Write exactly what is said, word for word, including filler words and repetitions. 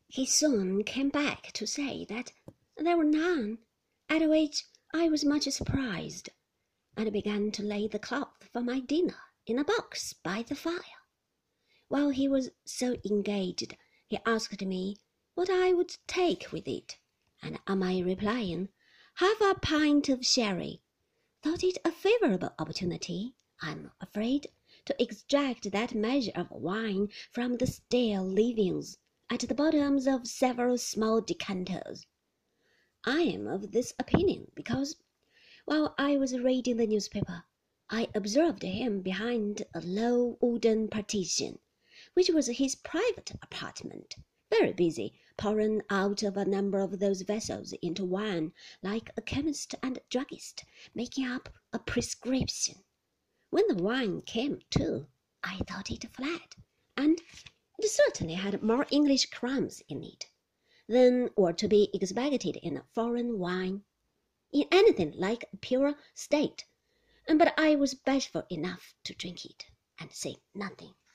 He soon came back to say that there were none, at which I was much surprised, and began to lay the cloth for my dinner in a box by the fire. While he was so engaged, he asked me what I would take with it, and on my replying, half a pint of sherry, thought it a favourable opportunity, I am afraid, to extract that measure of wine from the stale leavings at the bottoms of several small decanters. I am of this opinion because, while I was reading the newspaper, I observed him behind a low wooden partition, which was his private apartment, very busy, pouring out of a number of those vessels into wine like a chemist and druggist making up a prescription. When the wine came to, I thought it flat, and it certainly had more English crumbs in it than were to be expected in foreign wine, in anything like a pure state. But I was bashful enough to drink it, and say nothing.